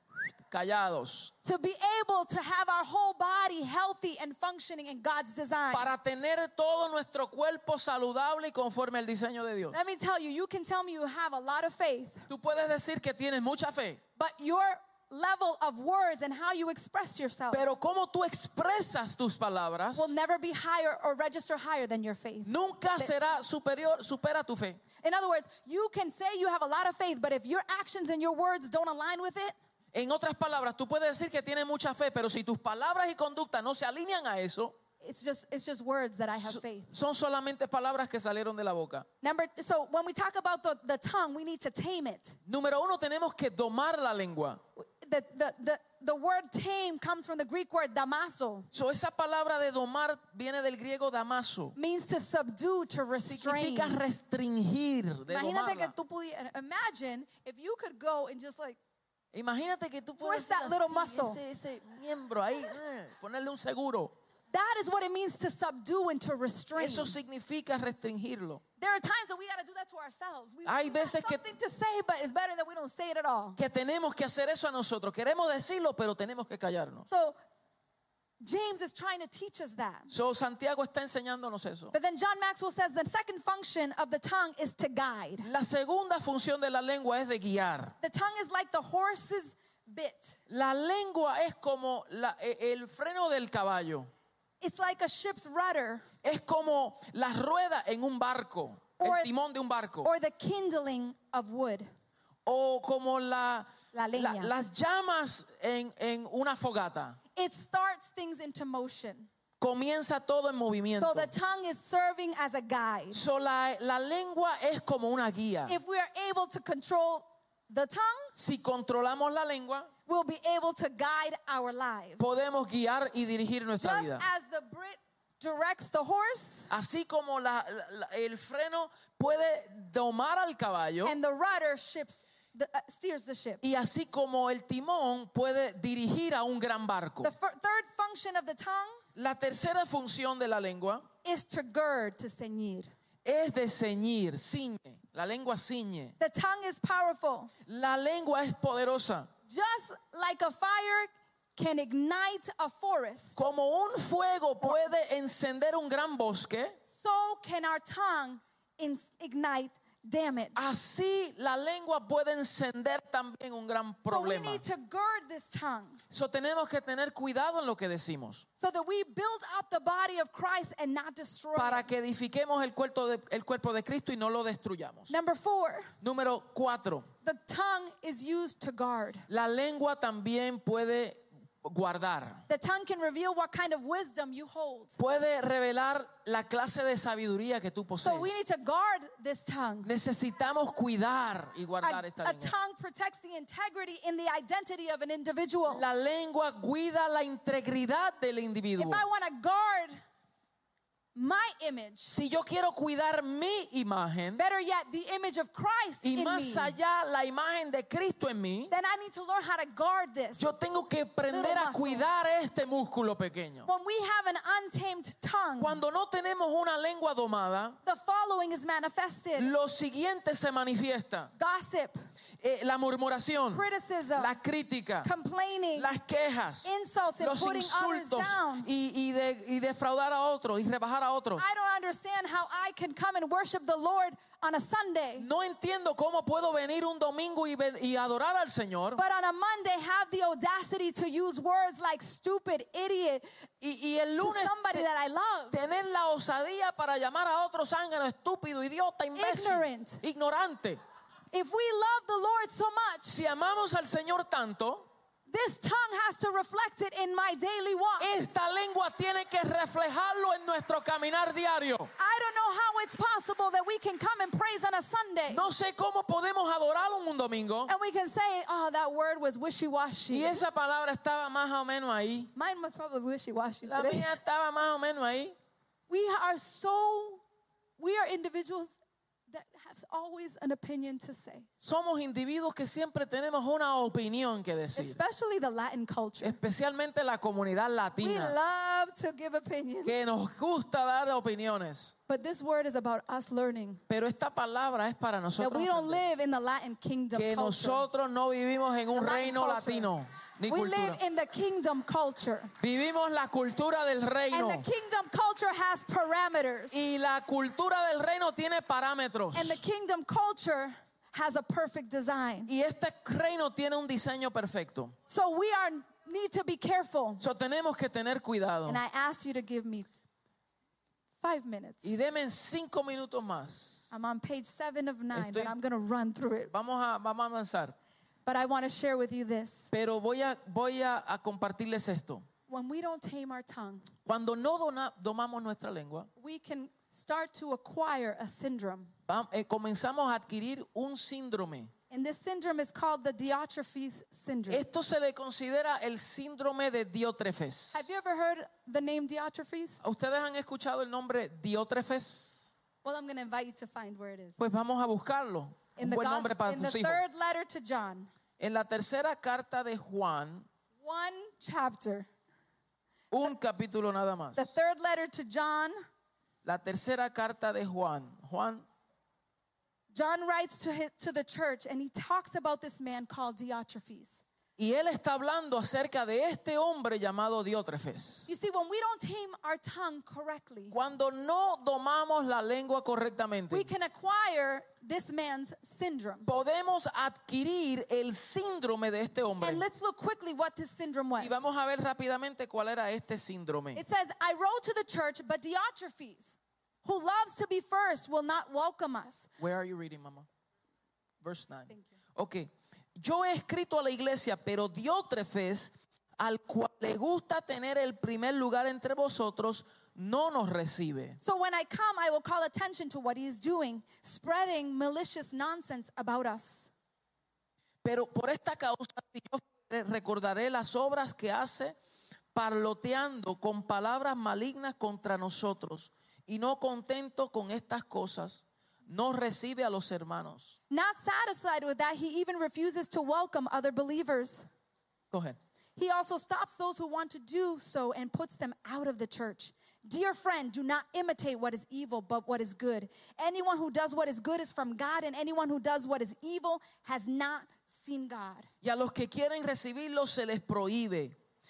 callados to be able to have our whole body healthy and functioning in God's design. para tener todo nuestro cuerpo saludable y conforme al diseño de Dios. Let me tell you, you can tell me you have a lot of faith, Tú puedes decir que tienes mucha fe, but your level of words and how you express yourself pero cómo tú expresas tus palabras will never be higher or register higher than your faith. nunca supera tu fe. In other words, you can say you have a lot of faith, but if your actions and your words don't align with it, En otras palabras, tú puedes decir que tienes mucha fe, pero si tus palabras y conducta no se alinean a eso, it's just words that I have faith. son solamente palabras que salieron de la boca. So when we talk about the tongue, we need to tame it. Número 1, tenemos que domar la lengua. The word tame comes from the Greek word damaso. So, esa palabra de domar viene del griego damaso. Means to subdue, to restrain. Significa restringir, de Imagínate que domarla. tú pudieras, imagine if you could go and just like, Imagínate que tú puedes Twist that little muscle. ese miembro ahí, ponerle un seguro. that is what it means to subdue and to restrain. Eso significa restringirlo. There are times that we got to do that to ourselves. We Hay have veces que- something to say, but it's better that we don't say it at all. Que tenemos que hacer eso a nosotros. Queremos decirlo, pero tenemos que callarnos. So James is trying to teach us that. So, Santiago está enseñándonos eso. But then John Maxwell says the second function of the tongue is to guide. La segunda función de la lengua es de guiar. The tongue is like the horse's bit. La lengua es como el freno del caballo. It's like a ship's rudder Es como las ruedas en un barco, Or- el timón de un barco. or the kindling of wood. O como La leña. las llamas en una fogata. It starts things into motion. Comienza todo en movimiento. So the tongue is serving as a guide. So, la lengua es como una guía. If we are able to control the tongue, Si controlamos la lengua, we'll be able to guide our lives. podemos guiar y dirigir nuestra Just vida. as the Brit directs the horse Así como el freno puede domar al caballo, and the rudder steers the ship. y así como el timón puede dirigir a un gran barco. The third function of the tongue La tercera función de la lengua is to gird, to ceñir. es de ceñir, ciñe. La lengua ciñe. The tongue is powerful. La lengua es poderosa. Just like a fire can ignite a forest, Como un fuego puede encender un gran bosque, so can our tongue ignite damage. Así la lengua puede encender también un gran So we problema. need to gird this tongue So tenemos que tener cuidado en lo que decimos so that we build up the body of Christ and not destroy para it. que edifiquemos el cuerpo de Cristo y no lo destruyamos. Number 4, Número 4. the tongue is used to guard. La lengua también puede guardar. The tongue can reveal what kind of wisdom you hold. Puede revelar la clase de sabiduría que tú So posees. we need to guard this tongue. Necesitamos cuidar y guardar esta A lengua. tongue protects the integrity in the identity of an individual. La lengua cuida la integridad del If individuo. I want to guard my image, Si yo quiero cuidar mi imagen better yet, the image of Christ y in me, más allá la imagen de Cristo en mí, then I need to learn how to guard this. yo tengo que aprender a muscle. cuidar este músculo pequeño. When we have an untamed tongue, Cuando no tenemos una lengua domada, the following is manifested: lo siguiente se manifiesta. gossip, La murmuración, criticism, la crítica, complaining, las quejas, insults, and los putting others insultos down. y defraudar a otros y rebajar a otros. I don't understand how I can come and worship the Lord on a Sunday, No entiendo cómo puedo venir un domingo y adorar al Señor but on a Monday have the audacity to use words like stupid, idiot y el to lunes somebody that I love. tener la osadía para llamar a otro zángano, estúpido, idiota, imbécil, Ignorant. ignorante. If we love the Lord so much, Si amamos al Señor tanto, this tongue has to reflect it in my daily walk. esta lengua tiene que reflejarlo en nuestro caminar diario. I don't know how it's possible that we can come and praise on a Sunday No sé cómo podemos adorar un domingo and we can say, oh, that word was wishy-washy. y esa palabra estaba más o menos ahí. Mine was probably wishy-washy La today. mía estaba más o menos ahí. We are individuals that have always an opinion to say, Somos individuos que siempre tenemos una opinión que decir, especially the Latin culture. especialmente la comunidad We latina, love to give opinions. que nos gusta dar opiniones. But this word is about us learning Pero esta palabra es para that nosotros we don't aprender live in the Latin kingdom que culture. nosotros no vivimos en un The Latin reino culture. latino ni We cultura. live in the kingdom culture. Vivimos la cultura del reino And the kingdom culture has parameters. y la cultura del reino tiene parámetros. And the kingdom culture has a perfect design. Y este reino tiene un diseño perfecto. So we need to be careful. So, tenemos que tener cuidado. And I ask you to give me 5 minutes. Y deme 5 minutos más. I'm on page 7 of 9, Estoy- but I'm going to run through it. Vamos a avanzar. But I want to share with you this. Pero voy a compartirles esto. When we don't tame our tongue, Cuando no domamos nuestra lengua, we can start to acquire a syndrome. comenzamos a adquirir un síndrome. And this syndrome is called the Diotrephes syndrome. Esto se le considera el síndrome de Diótrefes. Have you ever heard the name Diotrephes? ¿Ustedes han escuchado el nombre Diótrefes? Well, I'm going to invite you to find where it is. Pues vamos a buscarlo. In Un the, buen nombre para in the tus hijos. third letter to John, En la tercera carta de Juan, one chapter. un capítulo nada más. The third letter to John, La tercera carta de Juan. John writes to the church and he talks about this man called Diotrephes. Y él está hablando acerca de este hombre llamado Diótrefes. You see, when we don't tame our tongue correctly, Cuando no domamos la lengua correctamente, we can acquire this man's syndrome. podemos adquirir el síndrome de este hombre. And let's look quickly what this syndrome was. Y vamos a ver rápidamente cuál era este síndrome. It says, I wrote to the church, but Diotrephes, who loves to be first, will not welcome us. Where are you reading, Mama? Verse 9. Thank you. Ok. Yo he escrito a la iglesia, pero Diótrefes, al cual le gusta tener el primer lugar entre vosotros, no nos recibe. So when I come, I will call attention to what he is doing, spreading malicious nonsense about us. Pero por esta causa, si yo recordaré las obras que hace, parloteando con palabras malignas contra nosotros, y no contento con estas cosas, no recibe a los hermanos. Not satisfied with that, he even refuses to welcome other believers. Go ahead. He also stops those who want to do so and puts them out of the church. Dear friend, do not imitate what is evil, but what is good. Anyone who does what is good is from God, and anyone who does what is evil has not seen God. Y a los que quieren recibirlo se les prohíbe.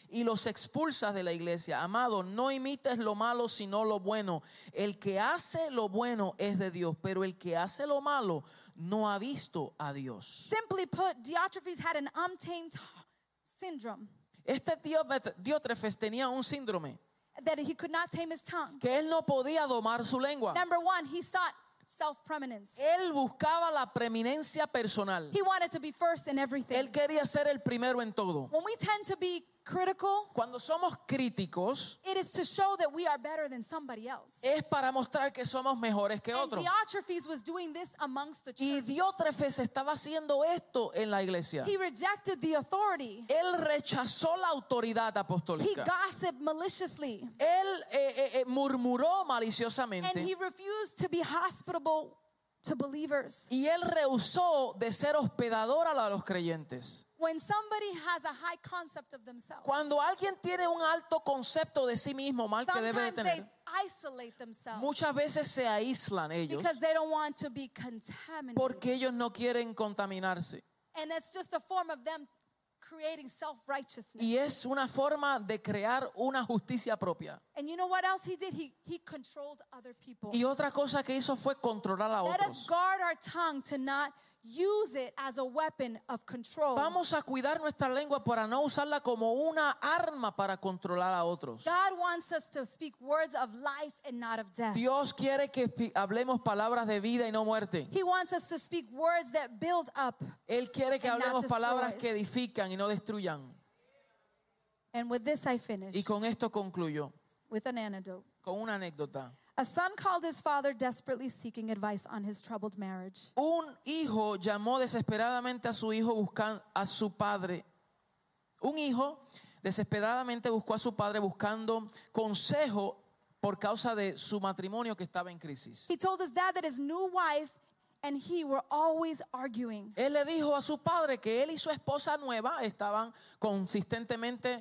y los expulsas de la iglesia. Amado, no imites lo malo sino lo bueno. El que hace lo bueno es de Dios, pero el que hace lo malo no ha visto a Dios. Simply put, Diotrephes had an untamed syndrome Este Diótrefes tenía un síndrome that he could not tame his tongue. que él no podía domar su lengua. Number one, he sought self-preeminence. Él buscaba la preeminencia personal. He wanted to be first in everything. Él quería ser el primero en todo. When we tend to be critical, Cuando somos críticos, it is to show that we are better than somebody else. es para mostrar que somos mejores que And otros. Diotrephes was doing this amongst the Y church. Diótrefes estaba haciendo esto en la iglesia. He rejected the authority. Él rechazó la autoridad He apostólica. gossiped maliciously. Él murmuró And maliciosamente. he refused to be hospitable to believers. Y él rehusó de ser hospedador a los creyentes. When somebody has a high concept of themselves, Cuando alguien tiene un alto concepto de sí mismo, mal que debe de sometimes they tener, isolate themselves muchas veces se aíslan ellos because they don't want to be contaminated. porque ellos no quieren contaminarse. And it's just a form of them creating self-righteousness. Y es una forma de crear una justicia propia. And you know what else he did? He controlled other people. Y otra cosa que hizo fue controlar a Let us otros. guard our tongue to not use it as a weapon of control. Vamos a cuidar nuestra lengua para no usarla como una arma para controlar a otros. God wants us to speak words of life and not of death. Dios quiere que hablemos palabras de vida y no muerte. He wants us to speak words that build up. Él quiere que And not hablemos palabras destroys. que edifican y no destruyan. And with this I finish Y con esto concluyo, with an anecdote. con una anécdota. A son called his father desperately seeking advice on his troubled marriage. Un hijo llamó desesperadamente a su hijo buscando a su padre. Un hijo desesperadamente buscó a su padre buscando consejo por causa de su matrimonio que estaba en crisis. He told his dad that his new wife and he were always arguing. Él le dijo a su padre que él y su esposa nueva estaban consistentemente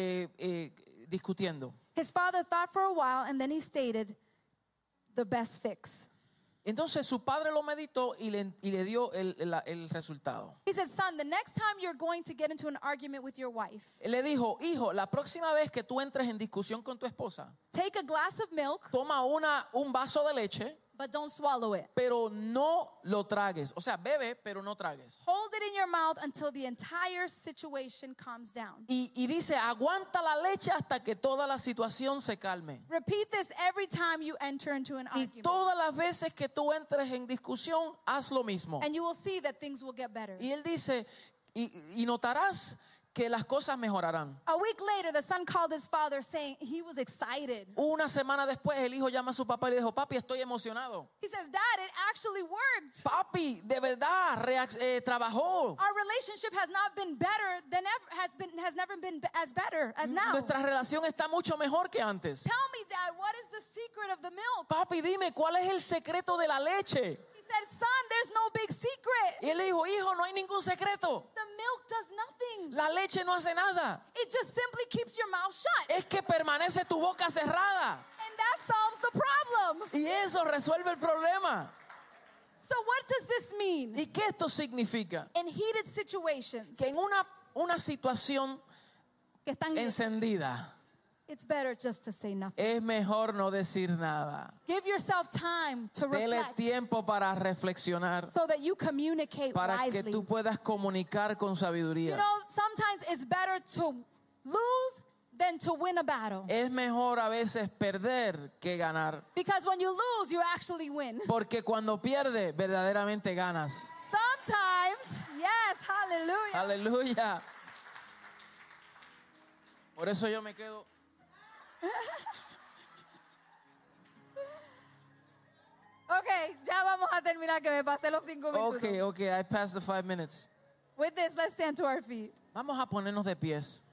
discutiendo. His father thought for a while and then he stated the best fix. Entonces su padre lo meditó y le dio el resultado. He said, son, the next time you're going to get into an argument with your wife, Él le dijo, hijo, la próxima vez que tú entres en discusión con tu esposa, take a glass of milk, toma un vaso de leche, but don't swallow it. pero no lo tragues. O sea, bebe, pero no tragues. Hold it in your mouth until the entire situation calms down. Y dice, aguanta la leche hasta que toda la situación se calme. Repeat this every time you enter into an Y argument. todas las veces que tú entres en discusión, haz lo mismo. And you will see that things will get better. Y él dice, y notarás que las cosas mejorarán. A week later, the son called his father saying he was excited. Una semana después, el hijo llama a su papá y le dijo, papi, estoy emocionado. He says, Dad, it actually worked. Papi, de verdad, trabajó. Our relationship has not been better than ever, has never been as better as now. Nuestra relación está mucho mejor que antes. Tell me, Dad, what is the secret of the milk? Papi, dime, ¿cuál es el secreto de la leche? He said, son, there's no big secret. Y él le dijo, hijo, no hay ningún secreto. The milk does nothing. La leche no hace nada. It just simply keeps your mouth shut. Es que permanece tu boca cerrada. And that solves the problem. Y eso resuelve el problema. So what does this mean? ¿Y qué esto significa? In heated situations Que en una situación que están, encendida it's better just to say nothing. es mejor no decir nada. Give yourself time to Dele reflect tiempo para reflexionar, so that you communicate para que wisely. tú puedas comunicar con You sabiduría. know, sometimes it's better to lose than to win a battle. Es mejor a veces perder que ganar, Because when you lose, you actually win. porque cuando pierdes verdaderamente ganas. Sometimes, yes, hallelujah. Aleluya. Por eso yo me quedo. Okay, ya vamos a terminar que me pasé los 5 minutos. Okay, I passed the 5 minutes. With this, let's stand to our feet. Vamos a ponernos de pies.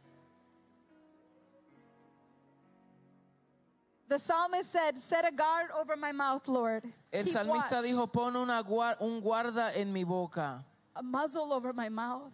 The psalmist said, set a guard over my mouth, Lord. El Keep salmista watch, dijo, pon un guarda en mi boca. a muzzle over my mouth.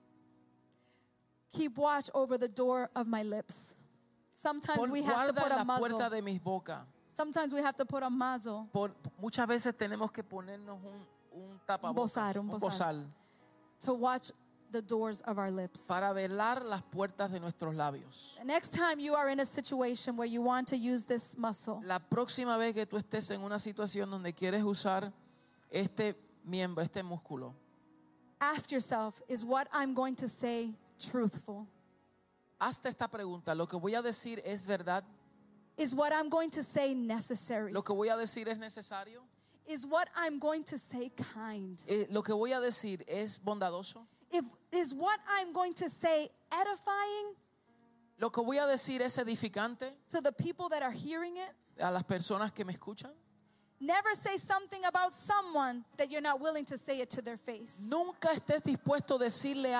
Keep watch over the door of my lips. Sometimes Pon we have to guarda put en a la puerta muzzle. de mis bocas. Sometimes we have to put a muzzle Muchas veces tenemos que ponernos un tapabocas, bozal, un bozal. bozal, to watch the doors of our lips. para velar las puertas de nuestros labios. The next time you are in a situation where you want to use this muscle, La próxima vez que tú estés en una situación donde quieres usar este miembro, este músculo, ask yourself, is what I'm going to say truthful? hazte esta pregunta: ¿lo que voy a decir es verdad? Is what I'm going to say necessary? ¿Lo que voy a decir es necesario? Is what I'm going to say kind? ¿Lo que voy a decir es bondadoso? Is what I'm going to say edifying ¿Lo que voy a decir es edificante to the people that are hearing it? a las personas que me escuchan? Never say something about someone that you're not willing to say it to their face. Nunca estés dispuesto a decir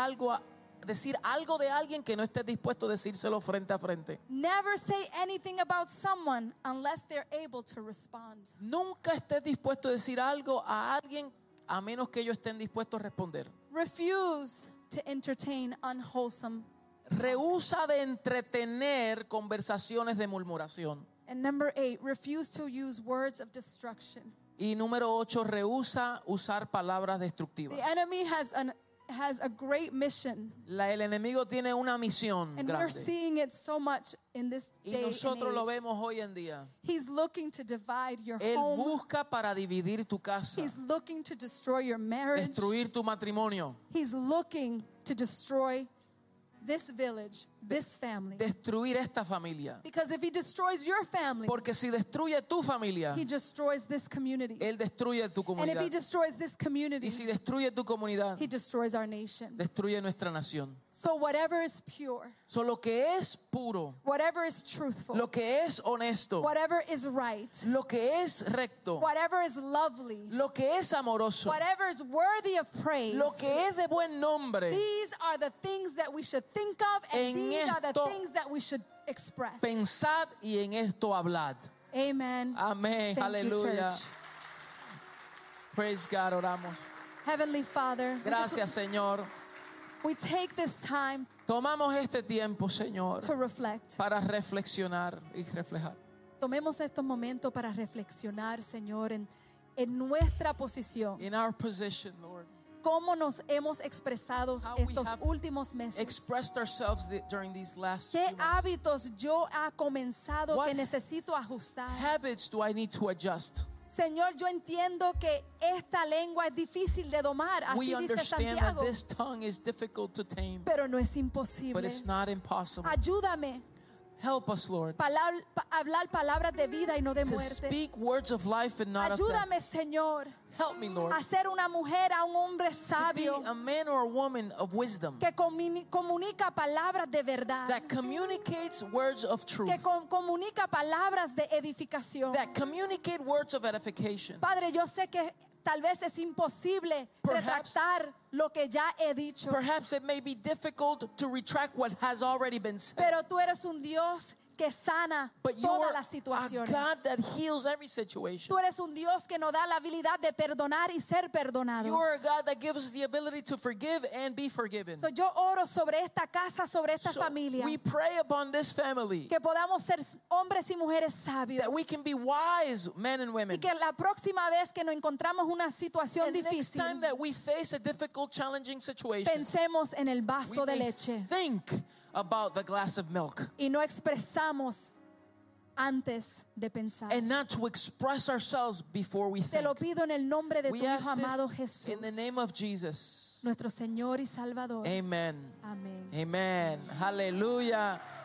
algo de alguien que no estés dispuesto a decírselo frente a frente. Never say anything about someone unless they're able to respond. Nunca estés dispuesto a decir algo a alguien a menos que ellos estén dispuestos a responder. Refuse to entertain unwholesome. Rehúsa de entretener conversaciones de murmuración. And number 8, refuse to use words of destruction. Y número 8, rehúsa usar palabras destructivas. The enemy has a great mission, El enemigo tiene una misión and we're grande. seeing it so much in this Y day and nosotros lo age. vemos hoy en día. He's looking to divide your Él home. busca para dividir tu casa, He's looking to destroy your marriage. destruir tu matrimonio, He's looking to destroy this village, this family. destruir esta familia. Because if he destroys your family, Porque si destruye tu familia, he destroys this community. Él destruye tu And if he comunidad. destroys this community, Y si destruye tu comunidad, he destroys our nation. destruye nuestra nación. So whatever is pure, So, lo que es puro, whatever is truthful, lo que es honesto, whatever is right, lo que es recto, whatever is lovely, lo que es amoroso, whatever is worthy of praise, lo que es de buen nombre, these are the things that we should think of, and En these are the esto things that we should express. pensad y en esto hablad. Amen. Amén, Thank you, aleluya. church. Praise God, oramos. Heavenly Father, Gracias, Señor. we take this time Tomamos este tiempo, Señor, to reflect. para reflexionar y reflejar. Tomemos estos momentos para reflexionar, Señor, en nuestra posición. In our position, Lord, Cómo nos hemos expresado How we estos have últimos meses. expressed ourselves during these last ¿Qué few months. hábitos yo ha comenzado What que necesito ajustar? habits do I need to adjust? Señor, yo entiendo que esta lengua es difícil de domar, We así dice understand that Santiago, this tongue is difficult to tame, pero no es but imposible. it's not impossible. Ayúdame Help us, Lord, a hablar palabras de vida y no de to muerte. speak words of life and not of death. Ayúdame, Señor, Help me, Lord, a ser una mujer, a un hombre to be sabio a man or a woman of wisdom que comunica palabras de verdad, that communicates words of truth, que comunica palabras de edificación. that communicate words of edification. Padre, yo sé que tal vez es imposible Perhaps- retractar lo que ya he dicho, Perhaps it may be difficult to retract what has already been said, pero tú eres un Dios que sana but you todas are las a situaciones. God that heals every situation. Tú eres un Dios que nos da la habilidad de perdonar y ser perdonados. You are a God that gives us the ability to forgive and be forgiven. So, yo oro sobre esta casa, sobre esta So familia, we pray upon this family que podamos ser hombres y mujeres sabios. that we can be wise men and Y women. que la próxima vez que nos encontramos una situación And next difícil, time that we face a difficult, challenging situation, pensemos en el vaso de we may leche think about the glass of milk y no expresamos antes de pensar. and not to express ourselves before we Te think. lo pido en el nombre de We tu Hijo ask amado this Jesús, in the name of Jesus. nuestro Señor y Salvador. Amen. Amén. Amen. Hallelujah.